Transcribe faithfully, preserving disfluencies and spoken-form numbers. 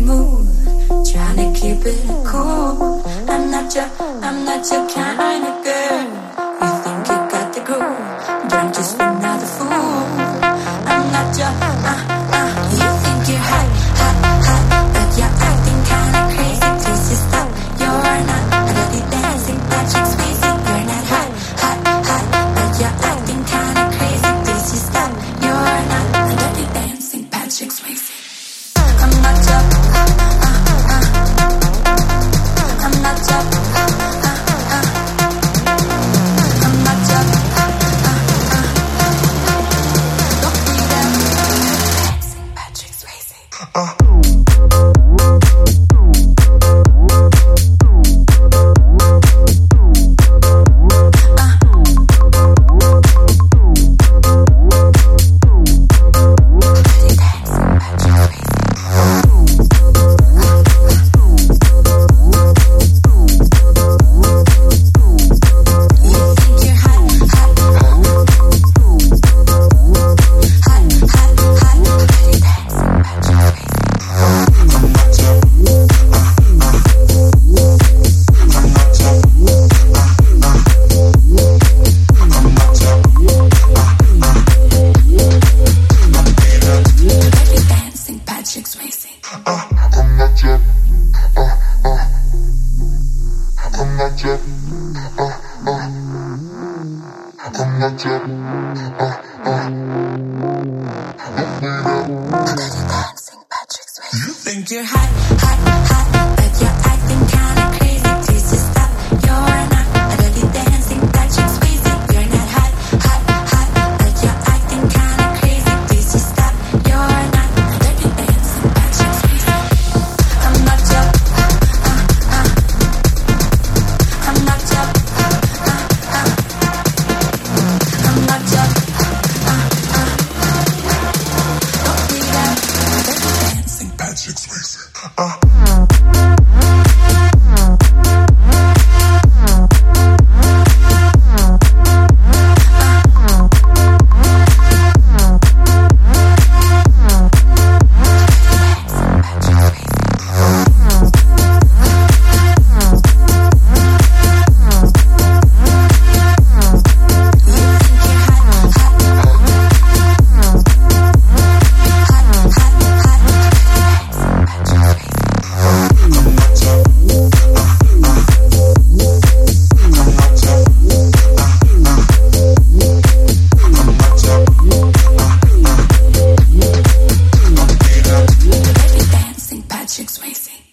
move, trying to keep it cool. I'm not your, I'm not your kind of girl. You think you got the groove, don't just another fool. I'm not your, uh, uh, you think you're hot, hot, hot, but you're acting kinda crazy. Please just stop, you're not a dirty dancing Patrick Swayze. You're not hot, hot, hot, but you're acting kinda crazy. Please just stop, you're not a dirty dancing Patrick Swayze. I'm not your, uh, uh, uh, I'm not your, uh, uh, uh, I'm not your, uh, uh, uh, don't be that dancing Patrick Swayze. Uh. You think you're hot, hot, hot, but you're acting kinda crazy. Please just stop, you're not a dirty dancing Patrick Swayze. You're not hot, hot, hot, but you're acting kinda crazy. Please just stop, you're not a dirty dancing Patrick Swayze. I'm not your, uh, uh, uh, I'm not your, uh, uh, uh, I'm not your, uh, uh, uh, don't be that dirty dancing Patrick Swayze. Uh. Patrick Swayze.